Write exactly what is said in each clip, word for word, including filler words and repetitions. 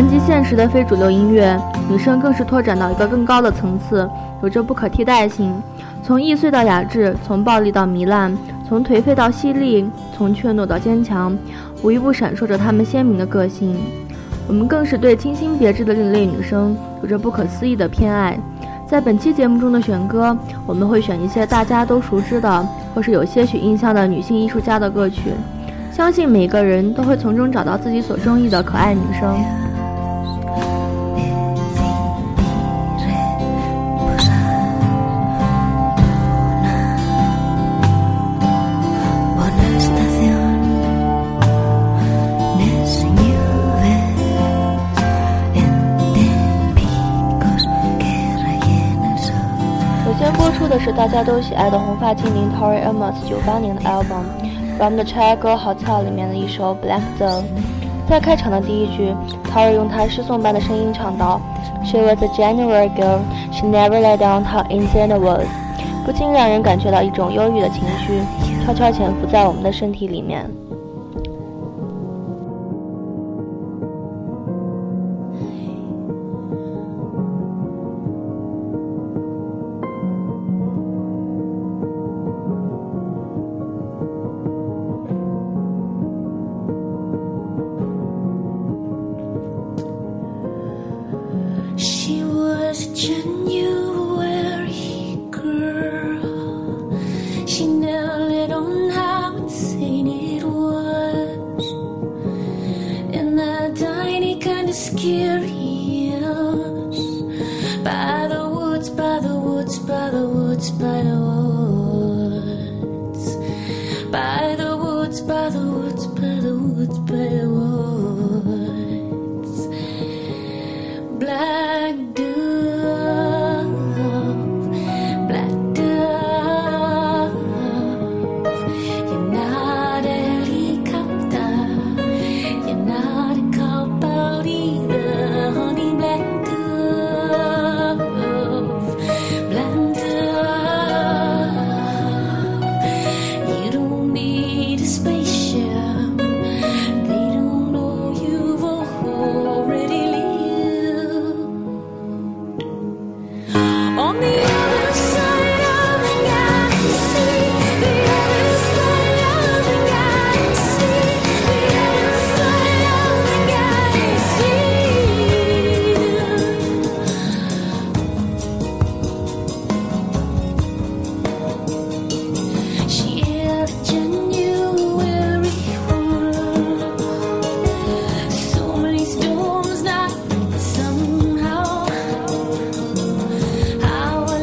谈及现实的非主流音乐，女生更是拓展到一个更高的层次，有着不可替代性。从易碎到雅致，从暴力到糜烂，从颓废到犀利，从怯懦到坚强，无一不闪烁着她们鲜明的个性。我们更是对清新别致的另类女生有着不可思议的偏爱。在本期节目中的选歌，我们会选一些大家都熟知的，或是有些许印象的女性艺术家的歌曲，相信每个人都会从中找到自己所中意的可爱女生。播出的是大家都喜爱的红发精灵 Tori Amos 九八年的 album From the Chicago Hotel 里面的一首 Black Zone。 在开场的第一句， Tori 用她失颂般的声音唱道 She was a January girl, she never let down how insane it was， 不禁让人感觉到一种忧郁的情绪悄悄潜伏在我们的身体里面。 How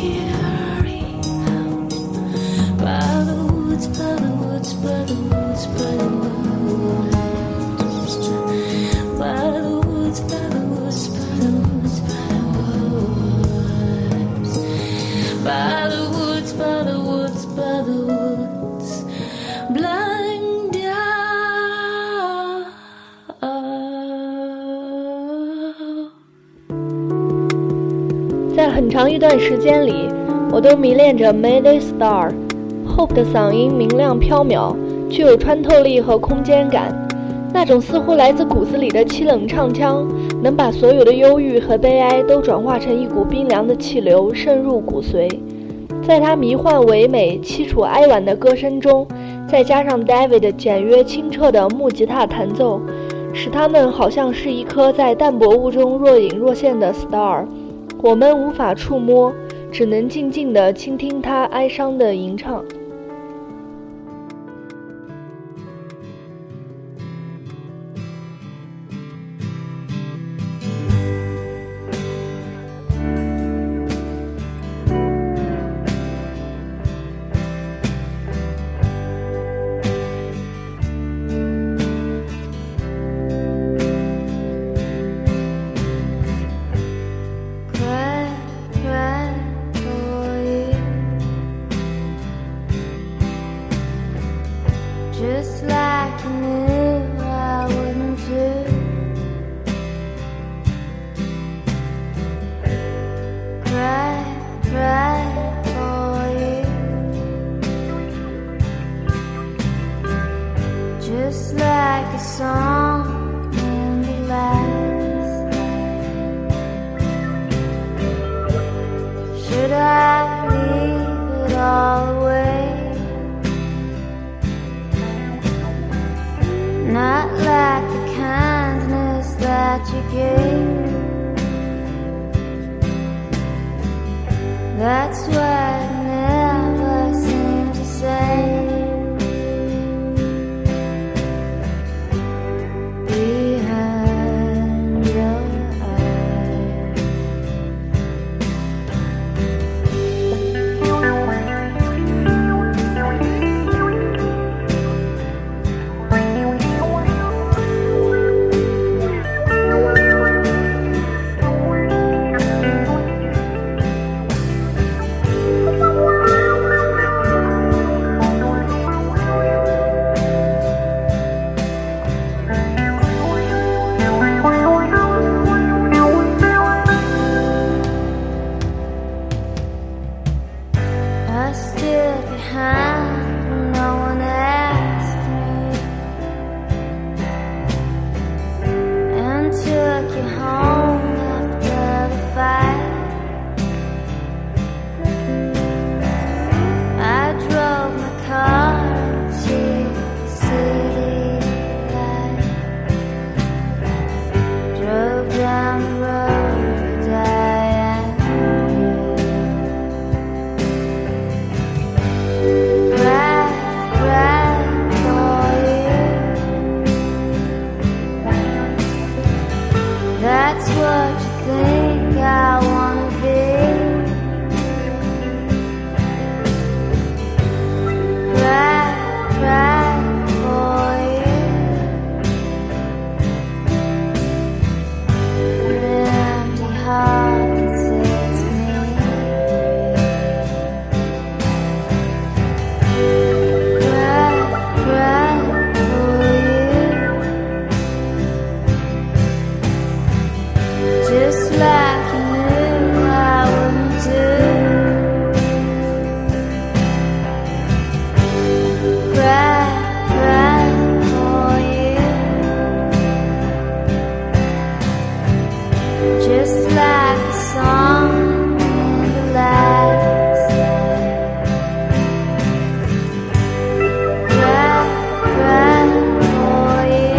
在很长一段时间里，我都迷恋着 Mayday Star。Hope 的嗓音明亮飘渺，具有穿透力和空间感，那种似乎来自骨子里的凄冷唱腔，能把所有的忧郁和悲哀都转化成一股冰凉的气流，渗入骨髓。在他迷幻唯美、凄楚哀婉的歌声中，再加上 David 简约清澈的木吉他弹奏，使他们好像是一颗在淡薄雾中若隐若现的 star。我们无法触摸，只能静静地倾听他哀伤的吟唱。 Just like you knew I wouldn't do. Cry, cry for you. Just like a song in the last. Should I leave it all away?Not like the kindness that you gave. That's what I never seem to say. Behind your eyes.Stood behind when no one asked me, and took you home after the fight. I drove my car to the city light, drove down the road I.That's what you think I wanna be. Cry, cry for you. An empty heart that sets me free. Cry, cry for you.Just like you knew I wouldn't do. Cry, cry for you. Just like a song in the last. Cry, cry for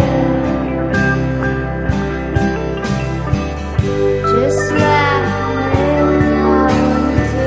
you.Just like you knew I wouldn't do.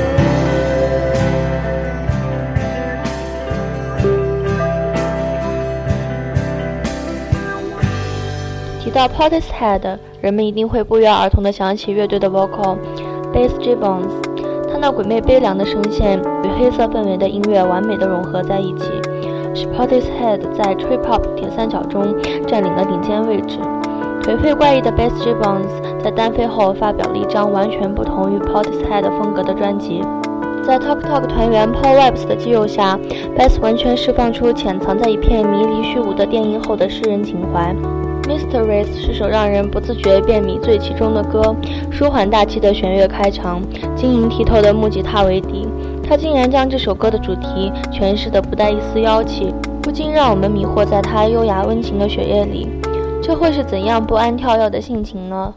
提到 Portishead， 人们一定会不约而同地想起乐队的 vocal Bass Gibbons。他看到鬼魅悲凉的声线与黑色氛围的音乐完美的融合在一起，使 Portishead 在 Trip Hop 铁三角中占领了顶尖位置。颓废怪异的 Bass Gibbons 在单飞后发表了一张完全不同于 Portishead 风格的专辑。在 Talk Talk 团员 Paul Webbs 的激诱下， Bass 完全释放出潜藏在一片迷离虚无的电音后的诗人情怀。Mysteries 是首让人不自觉便迷醉其中的歌，舒缓大气的弦乐开场，晶莹剔透的木吉他为底，他竟然将这首歌的主题诠释得不带一丝妖气，不禁让我们迷惑在他优雅温情的血液里，这会是怎样不安跳跃的性情呢？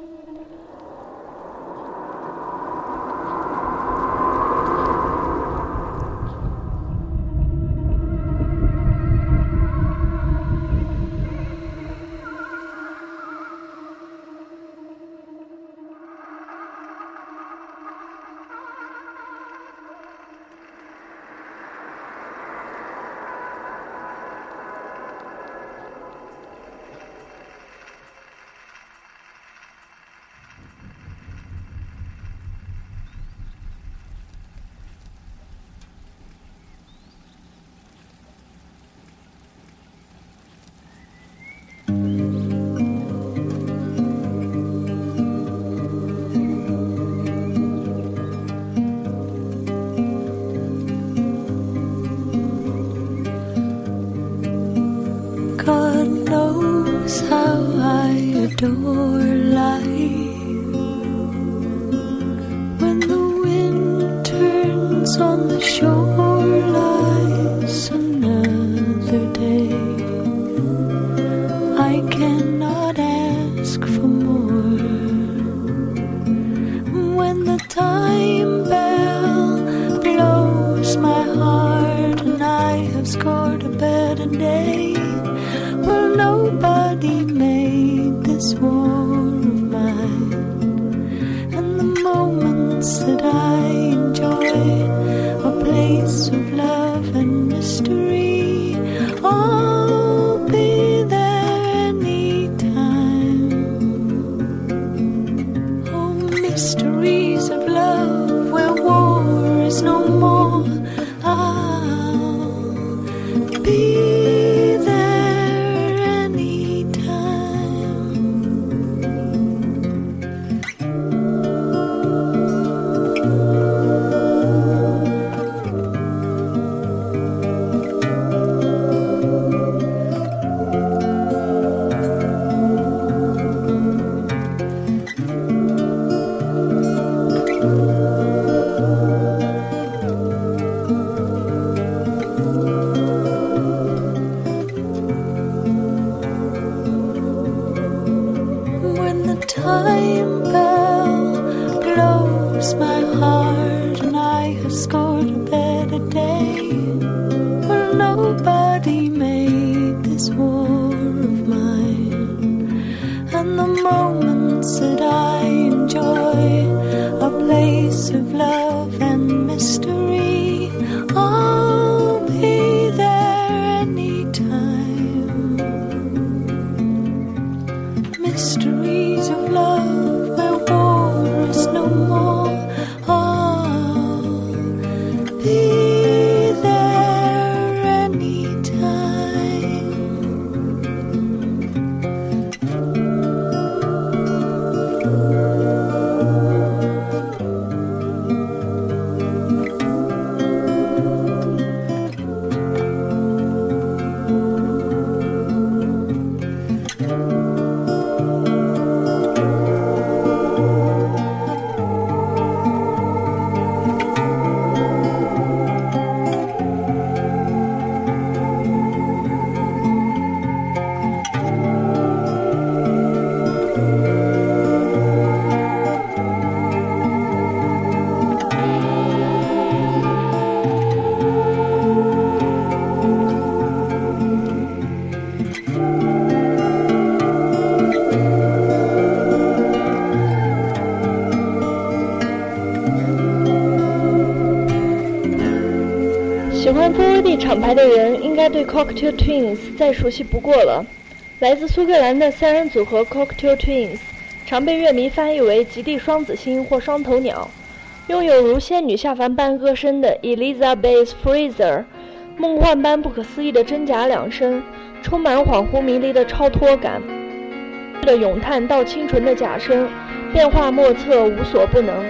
God knows how I adore life. When the wind turns on the shore, lies another day. I cannot ask for more. When the time bell blows my heart and I have scored a better day, well, nobody made this war of mine. And the moments that I enjoy, a place of love and mystery, I'll be there anytime. Oh, mysteries of love where war is no more, I'll be time bell blows my heart and I have scored a better day. Well, nobody made this war of mine. And the moments that I enjoy, a place of love and mystery, I'll be there anytime. Mysteries of love where war is no more, I'll be there anytime. 喜欢 F O D 厂牌的人应该对 Cocktail Twins 再熟悉不过了。来自苏格兰的三人组合 Cocktail Twins 常被乐迷翻译为极地双子星或双头鸟。 拥有如仙女下凡般歌声的 Elizabeth Fraser， 梦幻般不可思议的真假两声，充满恍惚迷离的超脱感的咏叹到清纯的假声，变化莫测，无所不能。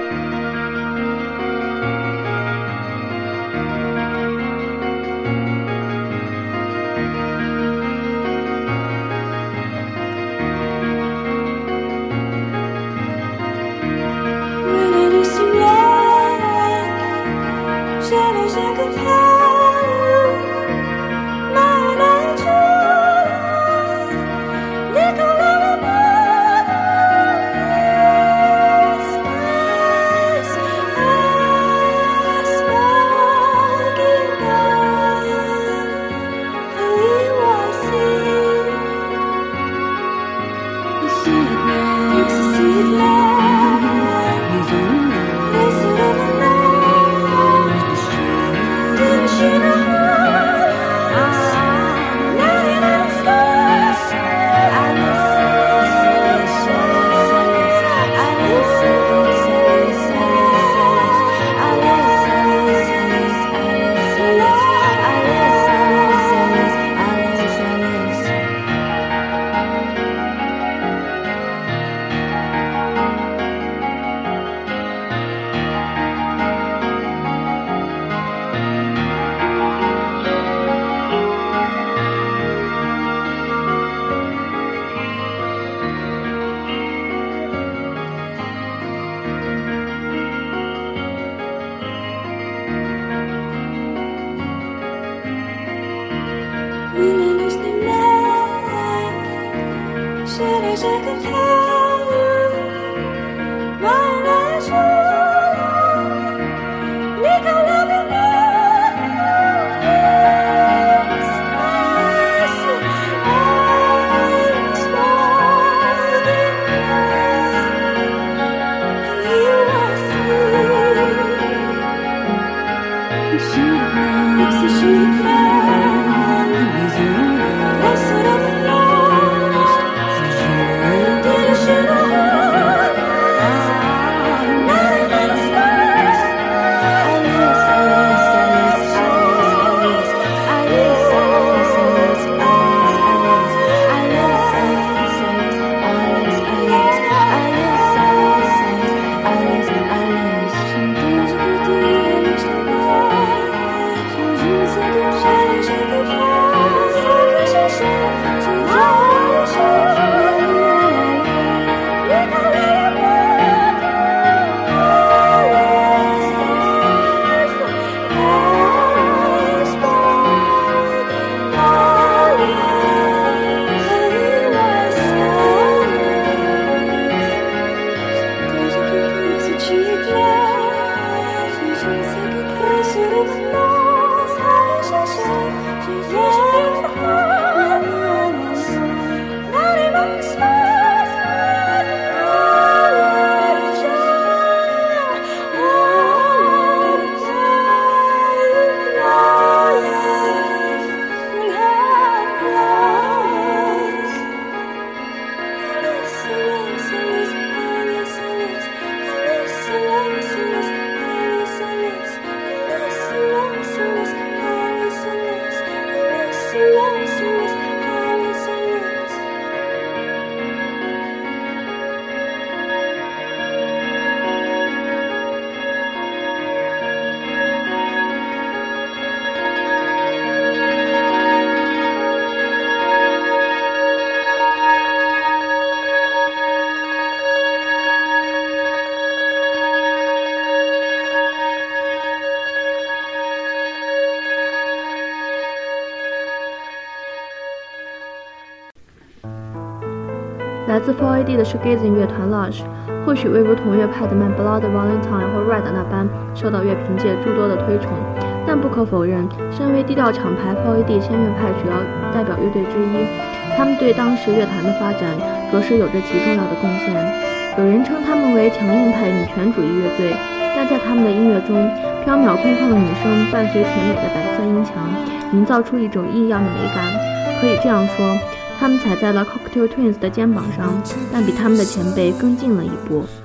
来自 四 A D 的 Shoegazing 乐团 Lush， 或许未如同乐派的 My Bloody Valentine 或 Red 那般受到乐评界诸多的推崇，但不可否认，身为低调厂牌 四 A D 弦乐派主要代表乐队之一，他们对当时乐坛的发展着实有着极重要的贡献。有人称他们为强硬派女权主义乐队，但在他们的音乐中，飘渺空旷的女声伴随甜美的白色音墙，营造出一种异样的美感。可以这样说，他们踩在了 Cocktail Twins 的肩膀上，但比他们的前辈更进了一步。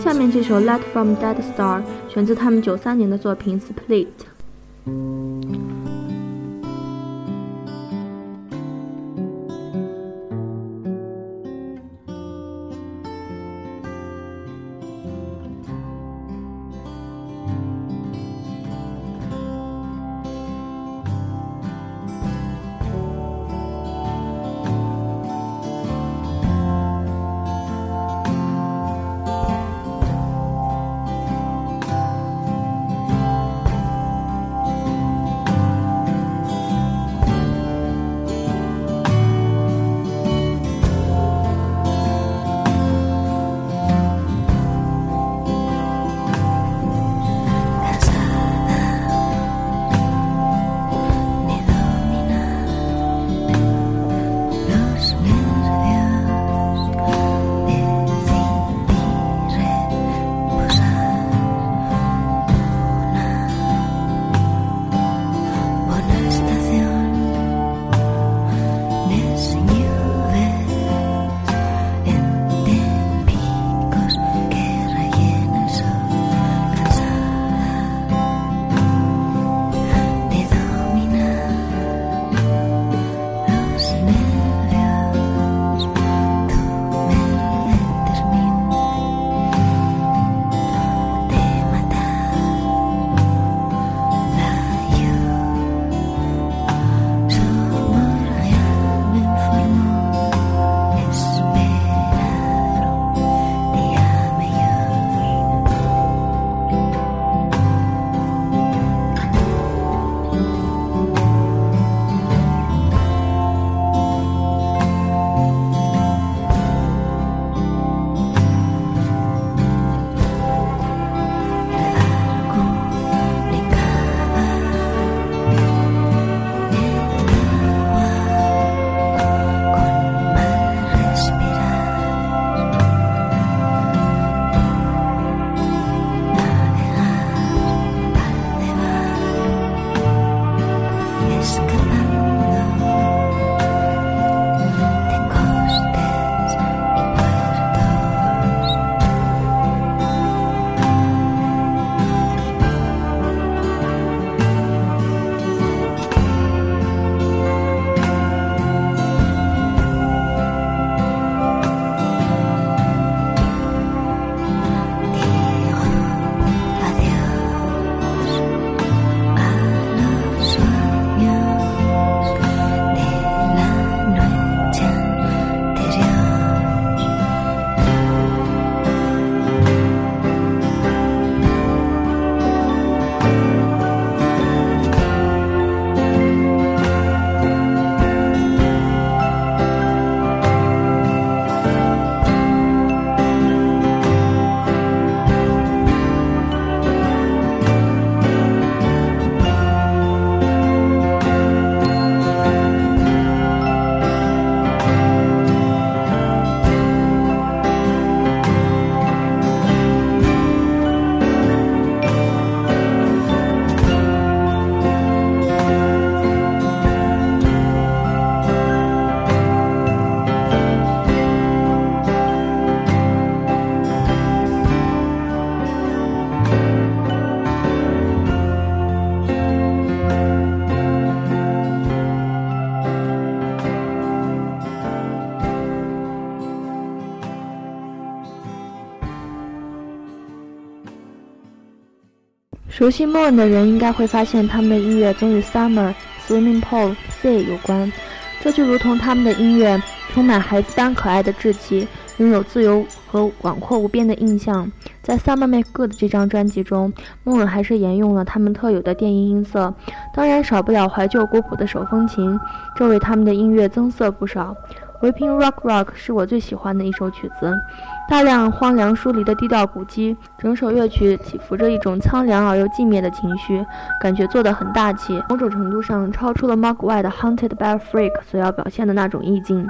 下面这首 Light from Dead Star 选自他们九三年的作品 Split。熟悉 Moon 的人应该会发现，他们的音乐总与 Summer、Swimming Pool、Sea 有关，这就如同他们的音乐充满孩子般可爱的稚气，拥有自由和广阔无边的印象。在 Summer Make Good 这张专辑中， Moon 还是沿用了他们特有的电音音色，当然少不了怀旧古朴的手风琴，这为他们的音乐增色不少。Weeping Rock Rock 是我最喜欢的一首曲子，大量荒凉疏离的低调鼓机，整首乐曲起伏着一种苍凉而又寂灭的情绪，感觉做得很大气，某种程度上超出了 Mogwai 的 Haunted by a Freak 所要表现的那种意境。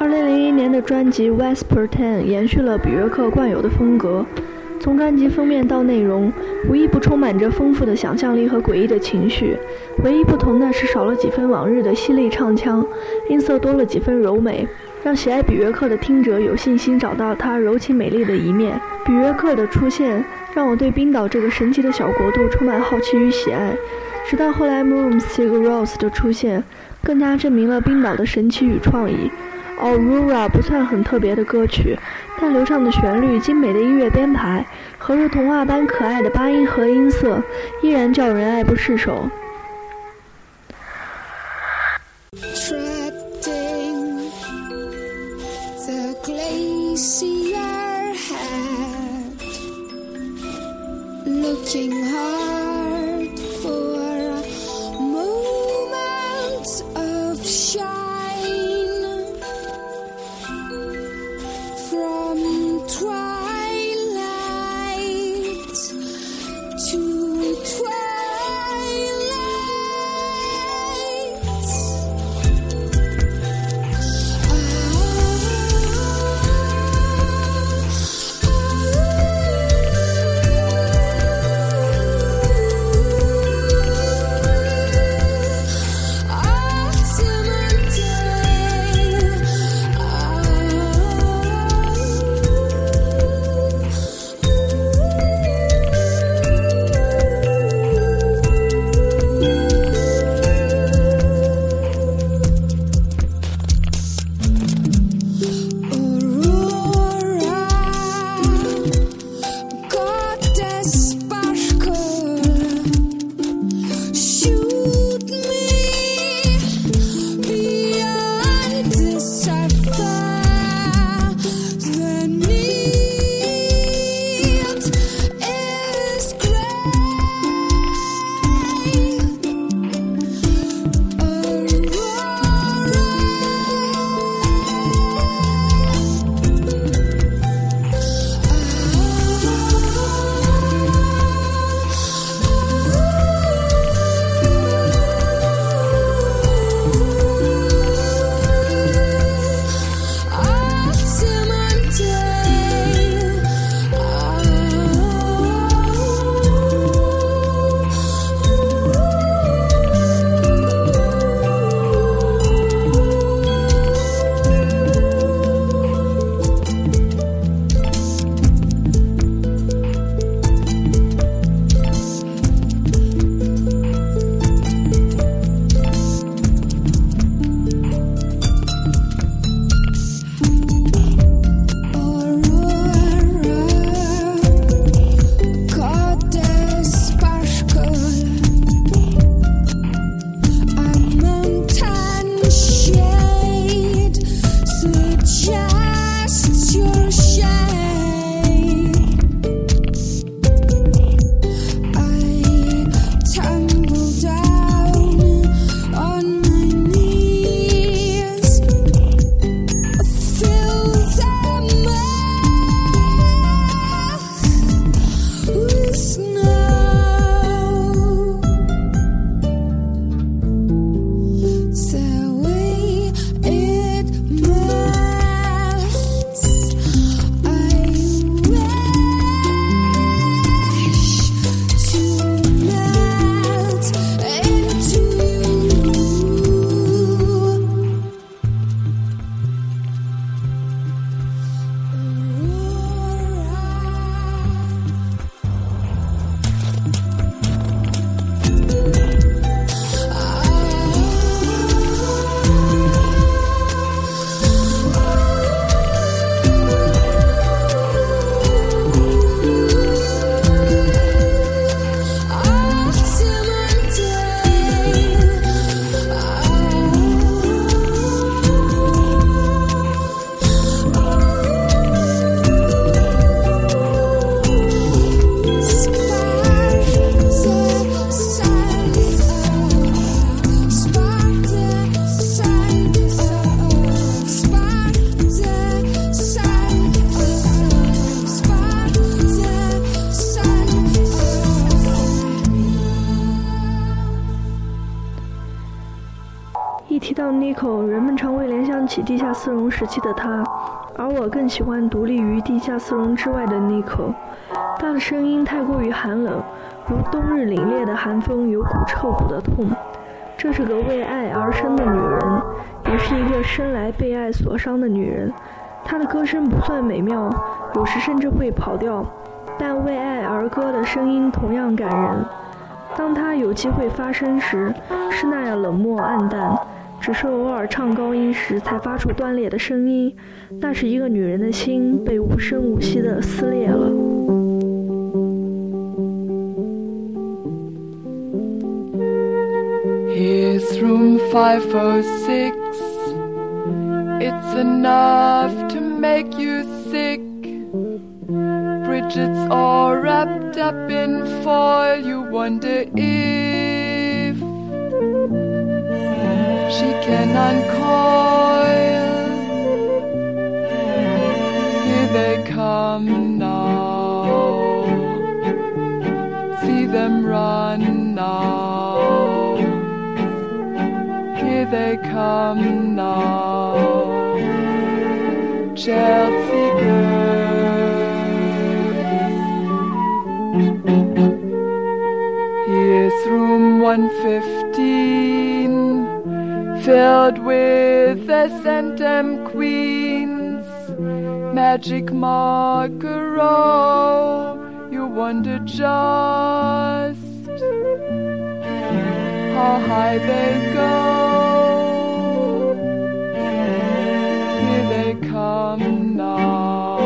二零零一年的专辑《Whisper Ten》延续了比约克惯有的风格，从专辑封面到内容，无一不充满着丰富的想象力和诡异的情绪。唯一不同的是少了几分往日的犀利唱腔，音色多了几分柔美，让喜爱比约克的听者有信心找到他柔情美丽的一面。比约克的出现让我对冰岛这个神奇的小国度充满好奇与喜爱，直到后来 Moon Sigur Rós 的出现，更加证明了冰岛的神奇与创意。Aurora 不算很特别的歌曲，但流畅的旋律、精美的音乐编排和如童话般可爱的八音盒音色，依然叫人爱不释手。 Treading the glacier head, looking hard for moments of shine from twilight to twilight. 想起地下丝绒时期的他，而我更喜欢独立于地下丝绒之外的 Nico。他的声音太过于寒冷，如冬日凛冽的寒风，有股彻骨的痛。这是个为爱而生的女人，也是一个生来被爱所伤的女人。她的歌声不算美妙，有时甚至会跑调，但为爱而歌的声音同样感人。当她有机会发声时，是那样冷漠暗淡，只是偶尔唱高音时才发出断裂的声音。那是一个女人的心被无声无息地撕裂了。 Here's room five oh six. It's enough to make you sick. Bridget's all wrapped up in foil. You wonder if she can uncoil. Here they come now. See them run now. Here they come now. Chelsea girls. Here's room one fifteen, filled with the Centum Queens. Magic Margaro, you wonder just how high they go. Here they come now.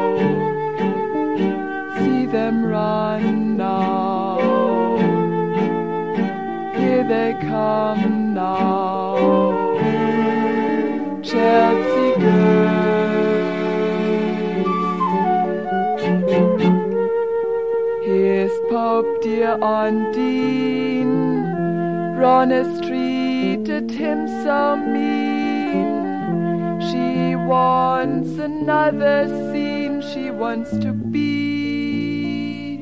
See them run now. Here they come now. Chelsea girls. Here's Pope dear Ondine. Ronest treated him so mean. She wants another scene. She wants to be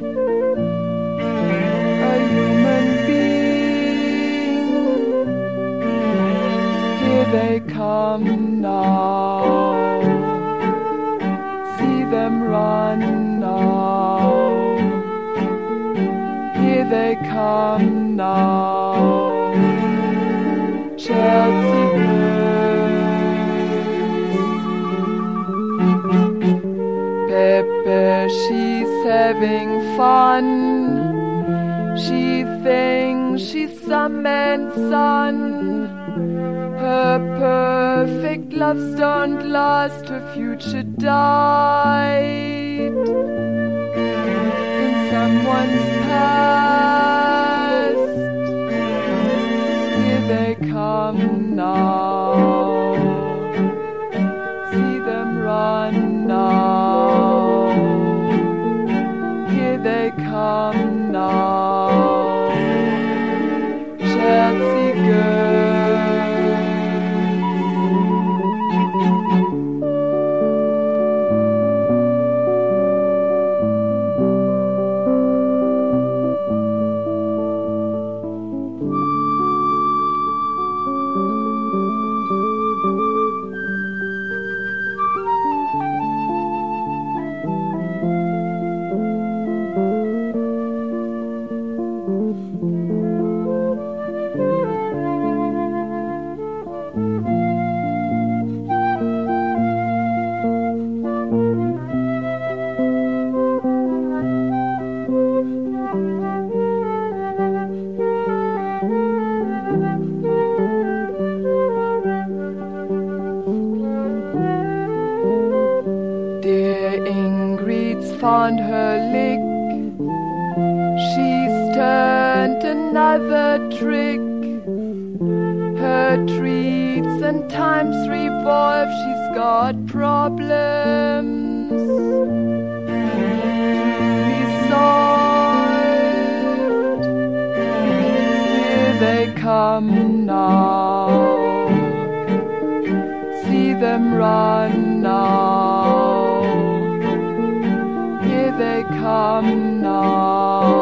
a human being. Here they come now. See them run now. Here they come now. Chelsea girls. Pepe, she's having fun. She thinks she's some man's son. Her perfect loves don't last. Her future died in someone's past. Here they come now. See them run now. Here they come now. Chelsea girls. Found her lick. She's turned another trick. Her treats and times revolve. She's got problems be solved. Here they come now. See them run now. They come now.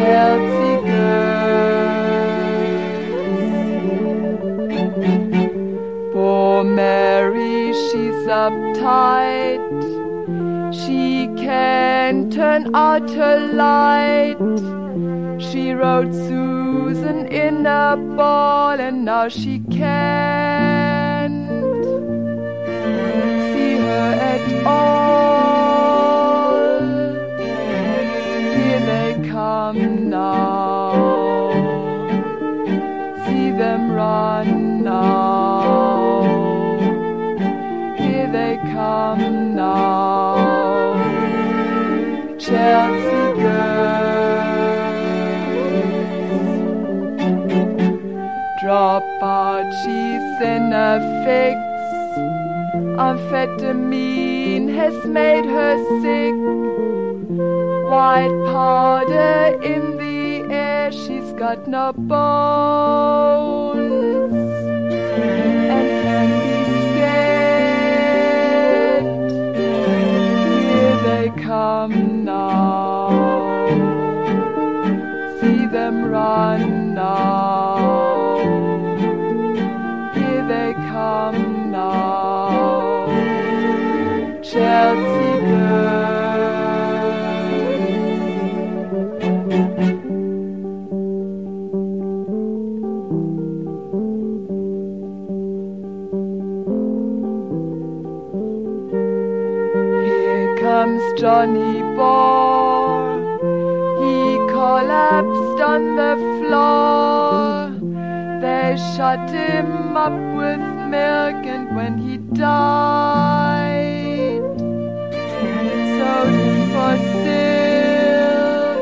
Chelsea girls. uptight. She can turn out her light. She wrote Susan in a ball, and now she can't see her at all. Here they come now. See them run now. Here they come now. Chelsea girls. Drop out, she's in a fix. Amphetamine has made her sick. White powder in the air, she's got no bones and can be scared. Here they come now. See them run now. Here they come now. Chelsea girls. Comes Johnny Ball. He collapsed on the floor. They shut him up with milk, and when he died, sold him for silk.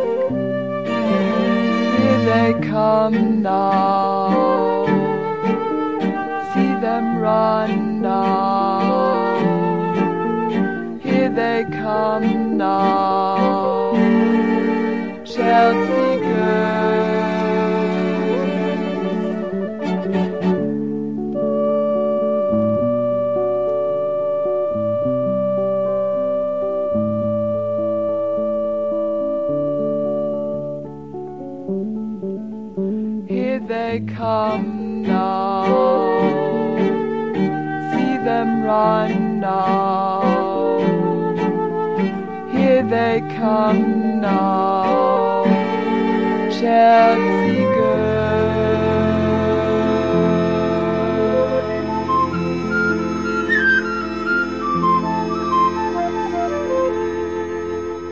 Here they come now. See them run now. They come now. Chelsea girls. Here they come now. See them run now. Here they come now. Chelsea girls。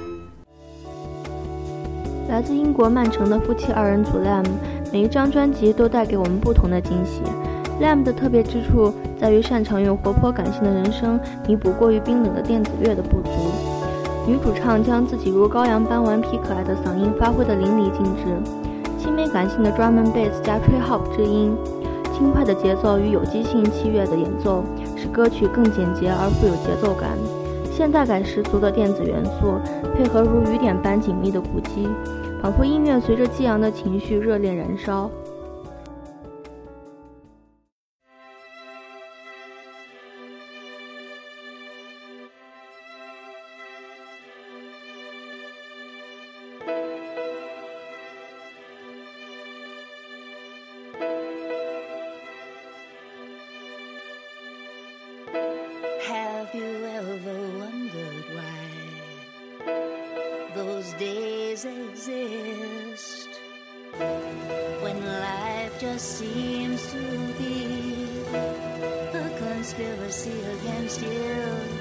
来自英国曼城的夫妻二人组 Lamb， 每一张专辑都带给我们不同的惊喜。Lamb 的特别之处在于擅长用活泼感性的人声弥补过于冰冷的电子乐的不足。女主唱将自己如羔羊般顽皮可爱的嗓音发挥得淋漓尽致，轻美感性的 drum and bass 加吹 hop 之音，轻快的节奏与有机性器乐的演奏，使歌曲更简洁而富有节奏感。现代感十足的电子元素配合如雨点般紧密的鼓机，仿佛音乐随着激昂的情绪热烈燃烧。 Have you ever wondered why those days exist when life just seems to be a conspiracy against you?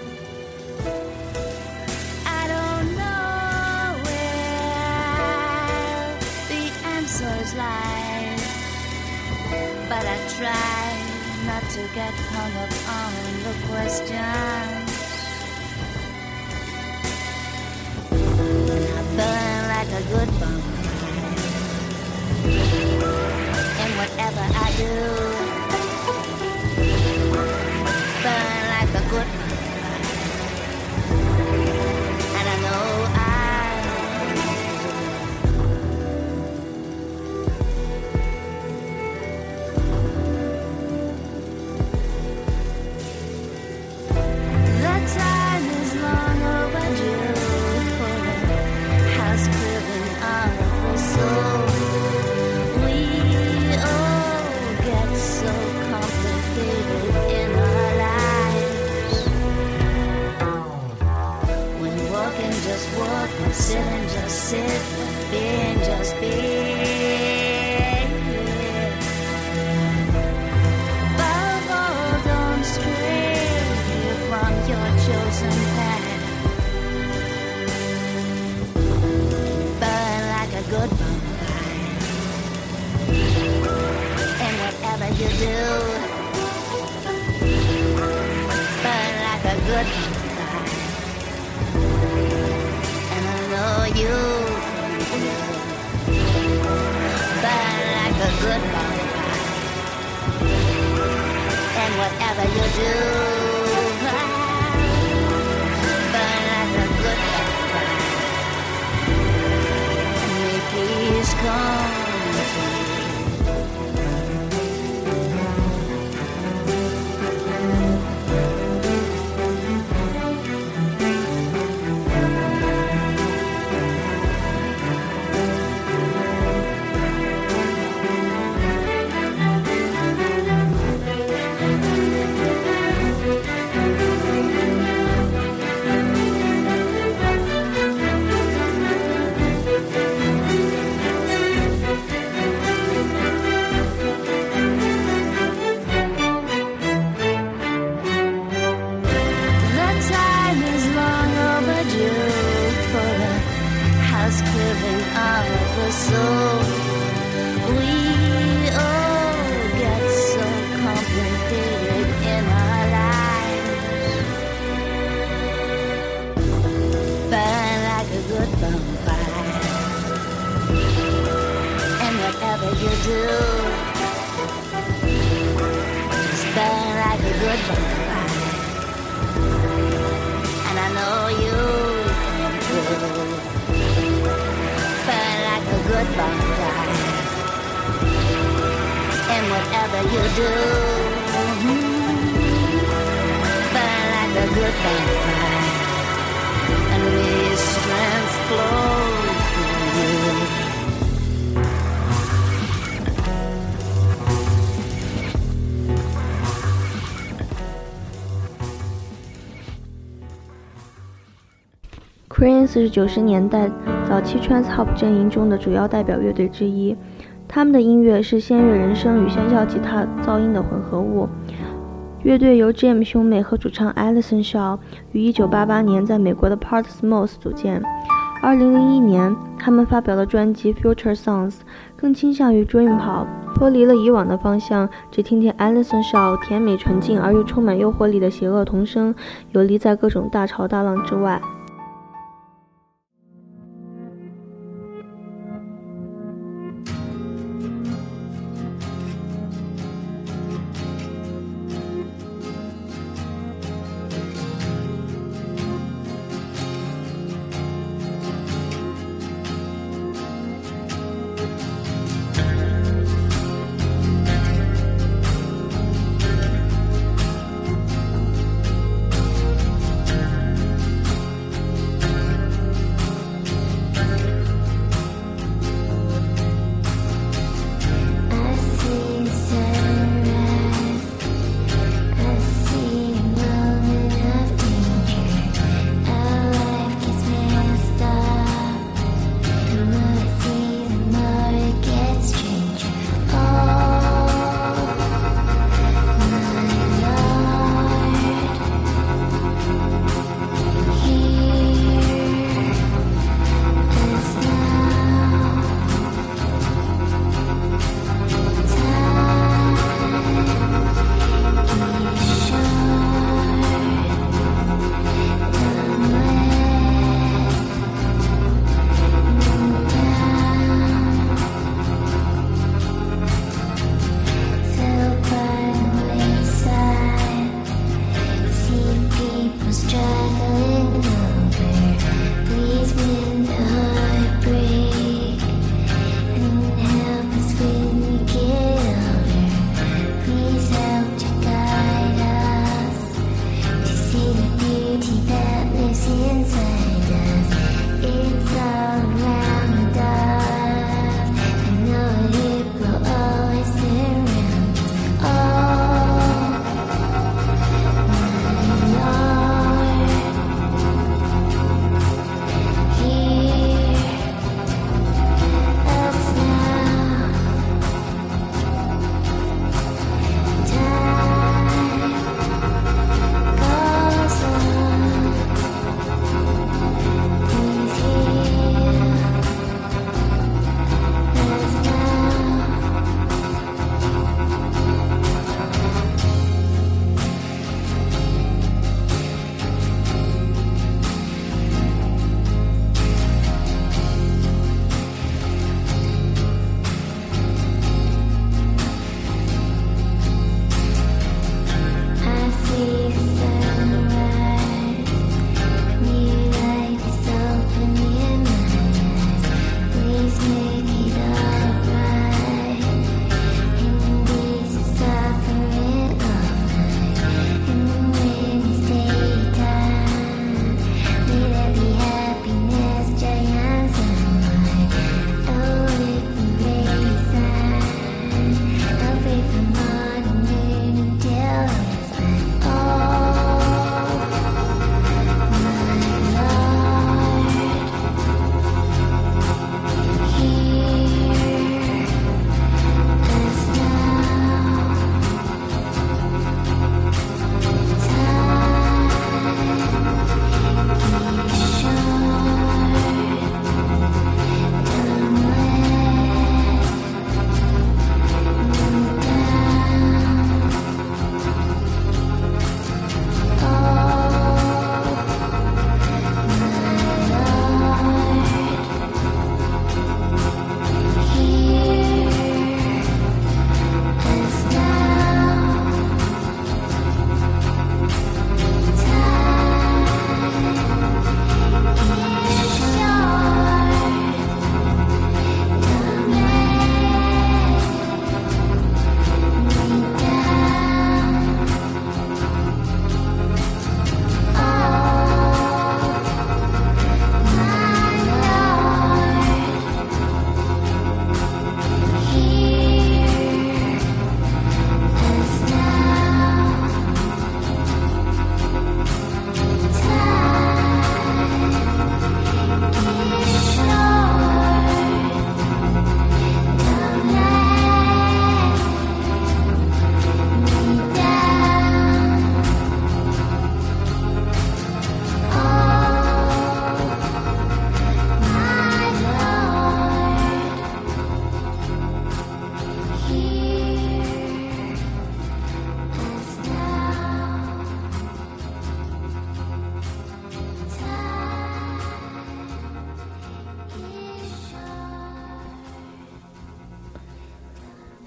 I don't know where the answers lie, but I try not to get hung up on the questions. I burn like a good bomb, and whatever I do, burn like a good bomb, and I know I chosen path. Burn like a good bonfire. And whatever you do, burn like a good bonfire. And I know you can do. Burn like a good bonfire. And whatever you do, burn like a good bonfire. And may peace come to you. And whatever you do, burn like a good bonfire. And may strength flow through you. Cream 是九十年代早期 trance hop 阵营中的主要代表乐队之一，他们的音乐是仙乐人声与喧嚣吉他噪音的混合物。乐队由 Jim 兄妹和主唱 Alison Shaw 于一九八八年在美国的 Portsmouth 组建。二零零一年，他们发表了专辑 Future Songs， 更倾向于 Dream Pop， 脱离了以往的方向，只听听 Alison Shaw 甜美纯净而又充满诱惑力的邪恶童声，游离在各种大潮大浪之外。 Time goes on.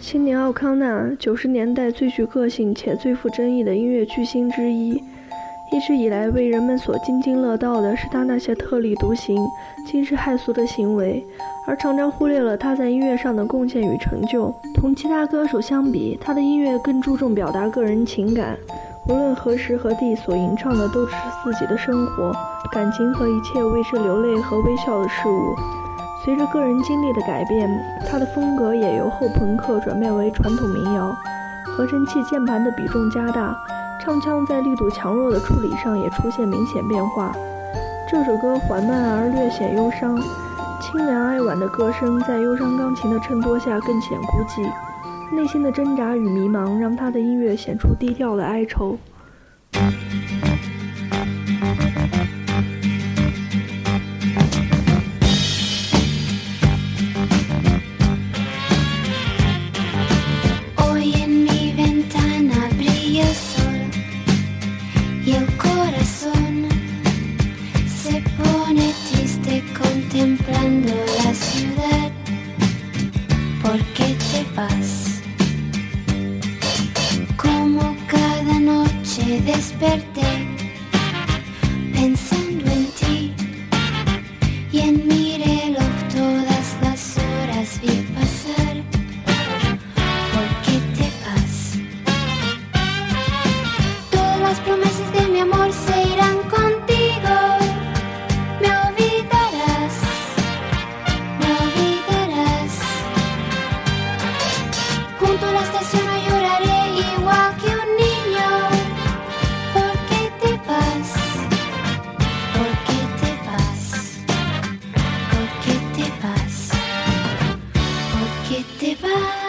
青年奥康纳，九十年代最具个性且最富争议的音乐巨星之一，一直以来为人们所津津乐道的是他那些特立独行、惊世骇俗的行为，而常常忽略了他在音乐上的贡献与成就。同其他歌手相比，他的音乐更注重表达个人情感，无论何时何地所吟唱的都是自己的生活、感情和一切为之流泪和微笑的事物。随着个人经历的改变，他的风格也由后朋克转变为传统民谣，合成器键盘的比重加大，唱腔在力度强弱的处理上也出现明显变化。这首歌缓慢而略显忧伤，清凉哀婉的歌声在忧伤钢琴的衬托下更显孤寂，内心的挣扎与迷茫让他的音乐显出低调的哀愁。 Contemplando la ciudad, ¿por qué te vas? Como cada noche desperté pensando en ti y en mi reloj todas las horas vi pasar. ¿Por qué te vas? Todas las promesas de mi amor se irán contigo. Me olvidarás, me olvidarás. Junto a la estación no lloraré igual que un niño. ¿Por qué te vas? ¿Por qué te vas? ¿Por qué te vas? ¿Por qué te vas?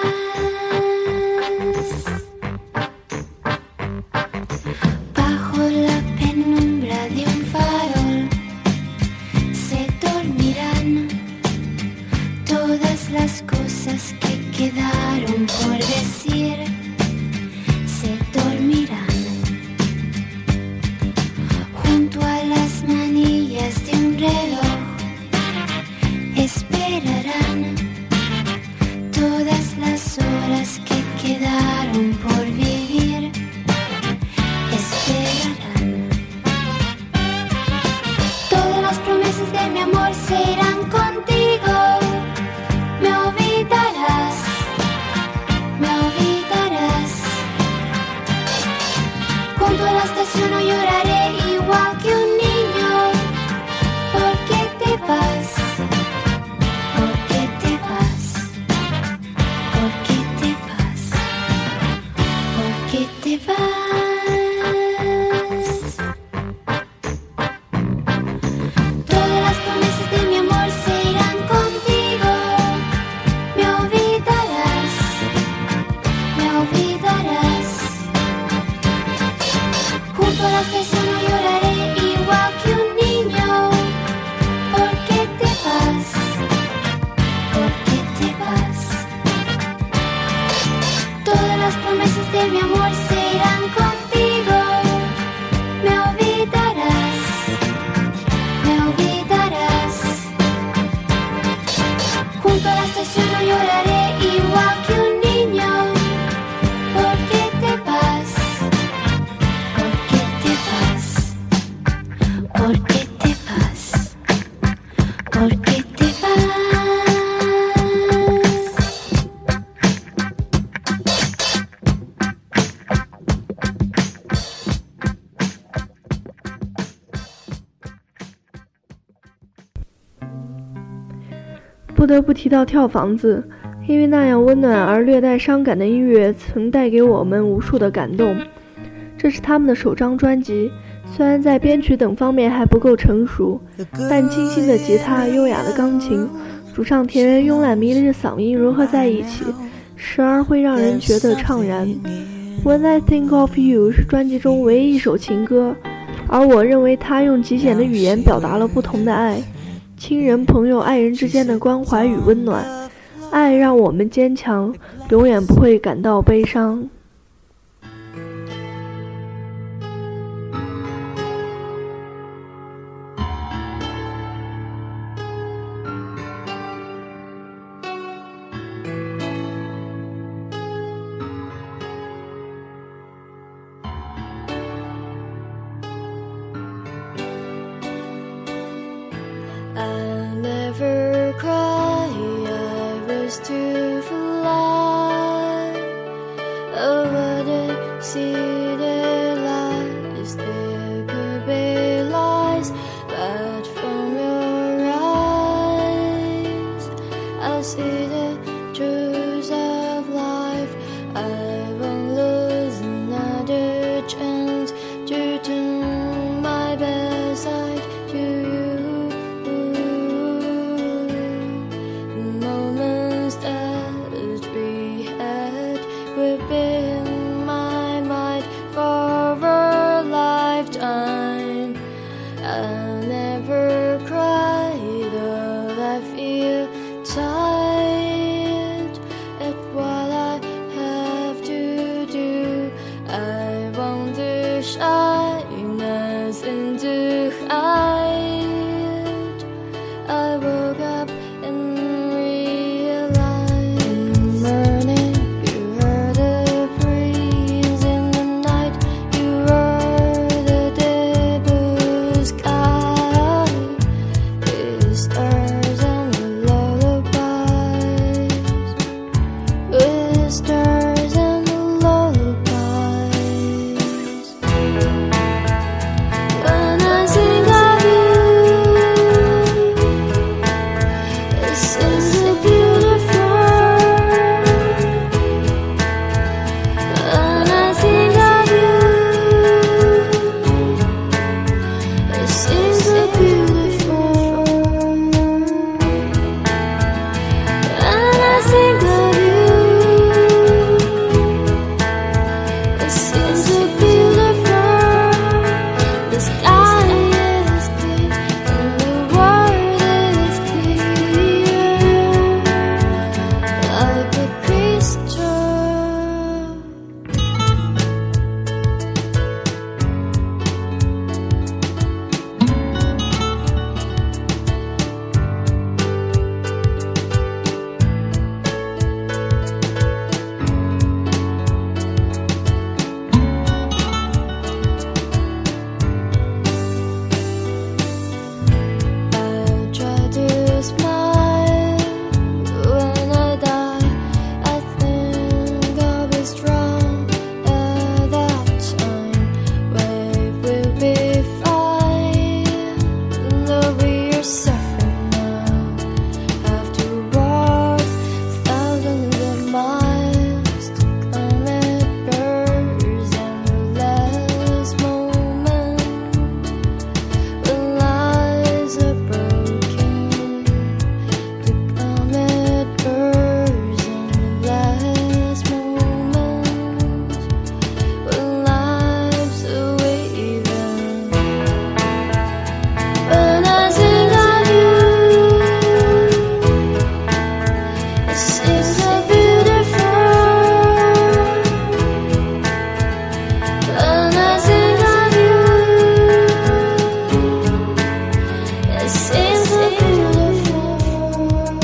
Bajo la penumbra de un farol se dormirán todas las cosas que quedaron por decir, se dormirán junto a las manillas de un reloj, esperarán todas las horas que quedaron por vivir, esperarán. Todas las promesas de mi amor se irán contigo. Me olvidarás, me olvidarás. Junto a la estación no lloraré igual que un niño. ¿Por qué te vas? ¿Por qué te vas? ¿Por qué te vas? ¿Por qué te vas? Todas las promesas de mi amor se irán contigo. Me olvidarás, me olvidarás. Junto a la estación no lloraré igual que un niño. ¿Por qué te vas? ¿Por qué te vas? Todas las promesas de mi amor se irán contigo. Me olvidarás, me olvidarás. Junto a la estación no lloraré igual que un niño. ¿Por qué te vas? ¿Por qué te vas? ¿Por qué te vas? ¿Por qué te vas? 不得不提到跳房子，因为那样温暖而略带伤感的音乐曾带给我们无数的感动。这是他们的首张专辑，虽然在编曲等方面还不够成熟，但清新的吉他、优雅的钢琴、主唱田园慵懒迷离的嗓音融合在一起，时而会让人觉得怅然。When I Think of You 是专辑中唯一一首情歌，而我认为它用极简的语言表达了不同的爱，亲人、朋友、爱人之间的关怀与温暖。爱让我们坚强，永远不会感到悲伤。 I never cry, I was to fly over the sea. There lies, there could be lies, but from your eyes I see the truths of life. I won't lose another chance to turn my best side to you. The moments that we had will be in my mind for a lifetime. I'll never cry, though I feel tired at what I have to do. I want to shine us into hide. I woke up and realized in the morning you heard the breeze, in the night you heard the day blue sky, with stars and the lullabies, with stars and the lullabies. When I think of you, it seems so beautiful. When I think of you, it seems so beautiful. When I think of you, it seems so beautiful. The sky is clear and the world is clear, like a crystal. I try to smile when I die. I think I'll be strong at that time. We will be fine, though we are suffering now. Have to walk thousands of miles to come at birds and the last moment. When lives are broken, to come at birds in the last moments. When lives are waving. When I think of you, it seems so beautiful. When I think of you, it seems so beautiful.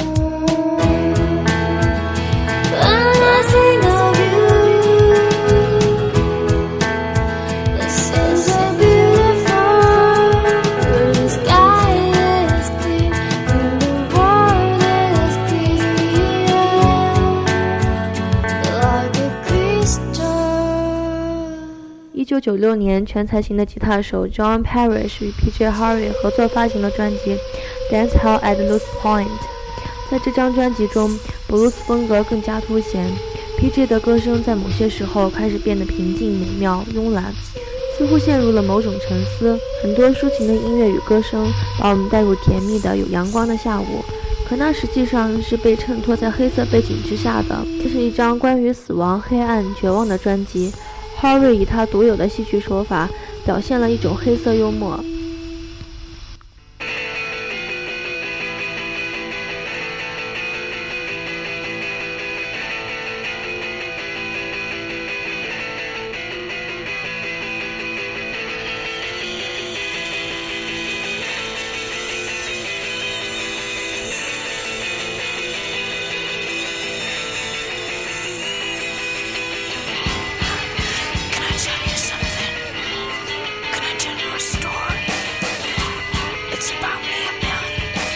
When I think of you, it seems so beautiful. The sky is clear and the world is clear, like a crystal. 一九九六年，全才型的吉他手 John Parrish 与 P J Harvey 合作发行了专辑《Dance Hall at Loose Point》。在这张专辑中，布鲁斯风格更加凸显。P J 的歌声在某些时候开始变得平静、美妙、慵懒，似乎陷入了某种沉思。很多抒情的音乐与歌声把我们带入甜蜜的有阳光的下午，可那实际上是被衬托在黑色背景之下的。这是一张关于死亡、黑暗、绝望的专辑。Harvey 以他独有的戏剧手法表现了一种黑色幽默。 It's about me, a million.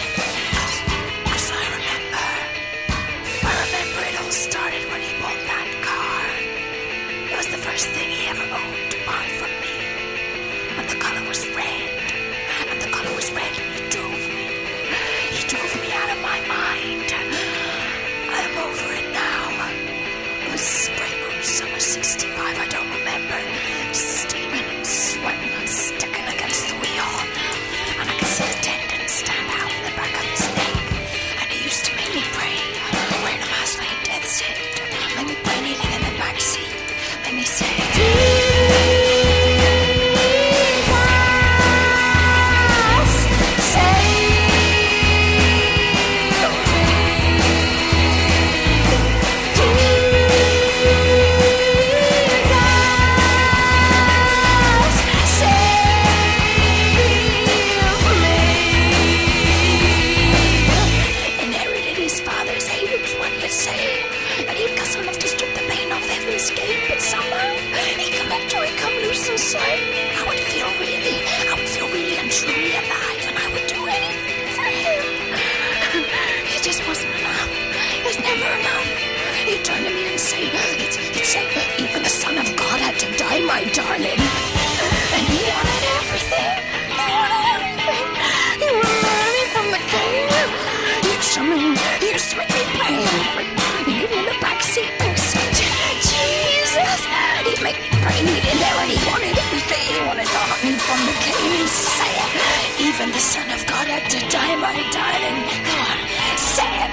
darling. And he wanted everything. He wanted everything. He wanted me from the game. He used to me, he used to make me pay everything. He gave me the backseat such Jesus. He'd make me pray me in there and he wanted everything. He wanted to hug me from the cane. Say it. Even the Son of God had to die, my darling. Come on, say it.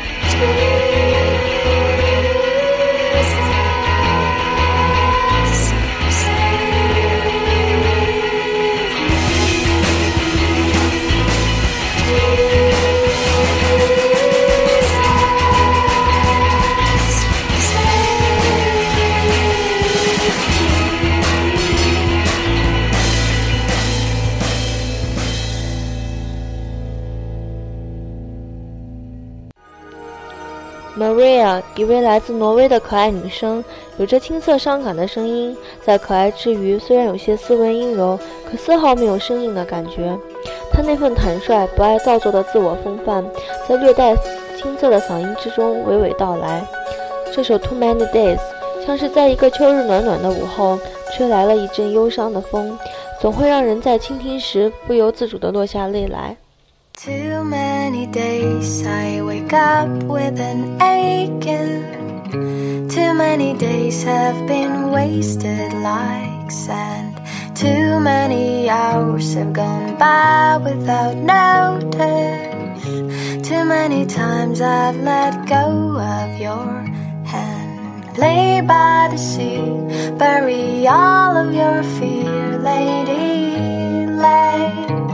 Maria， 一位来自挪威的可爱女生，有着青涩伤感的声音，在可爱之余，虽然有些斯文阴柔，可丝毫没有生硬的感觉。她那份坦率、不爱造作的自我风范，在略带青涩的嗓音之中娓娓道来。这首 Too Many Days 像是在一个秋日暖暖的午后，吹来了一阵忧伤的风，总会让人在倾听时不由自主地落下泪来。 Too many days I wake up with an aching. Too many days have been wasted like sand. Too many hours have gone by without notice. Too many times I've let go of your hand. Lay by the sea, bury all of your fear, lady, lay.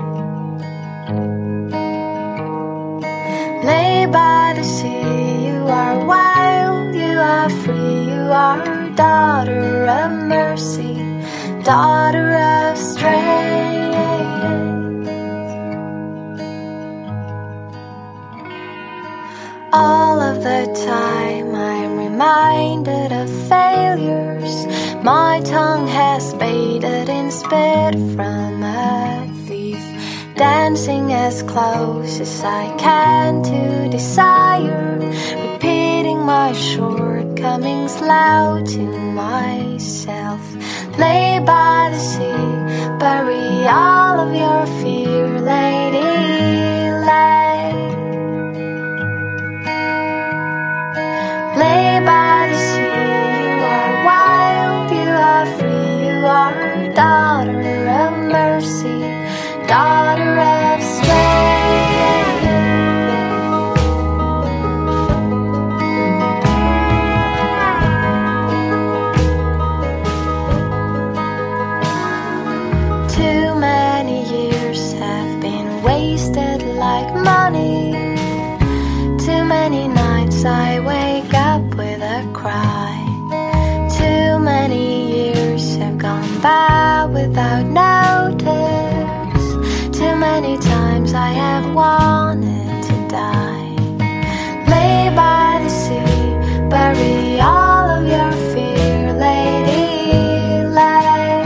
Lay by the sea, you are wild, you are free, you are daughter of mercy, daughter of strength. All of the time I'm reminded of failures. My tongue has bathed in spit from a thief, dancing as close as I can to desire, repeating my shortcomings loud to myself. Lay by the sea, bury all of your fear, lady, lay. Lay by the sea, you are wild, you are free, you are daughter of mercy, daughter of strength. Too many years have been wasted like money. Too many nights I wake up with a cry. Too many years have gone by without notice. Too many times I have wanted to die. Lay by the sea, bury all of your fear, lady, lay.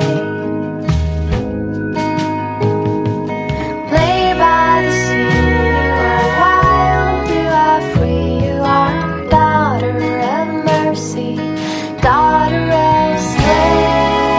Lay by the sea, you are wild, you are free, you are daughter of mercy, daughter of strength.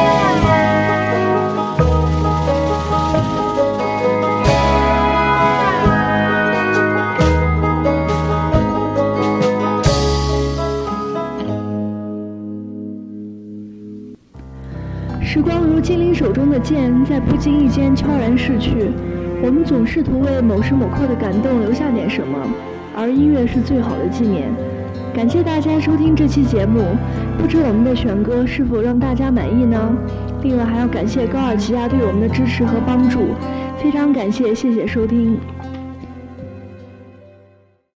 《时光如精灵手中的剑，在不经意间悄然逝去。我们总试图为某时某刻的感动留下点什么，而音乐是最好的纪念。感谢大家收听这期节目，不知我们的选歌是否让大家满意呢？另外还要感谢高尔吉亚对我们的支持和帮助，非常感谢，谢谢收听。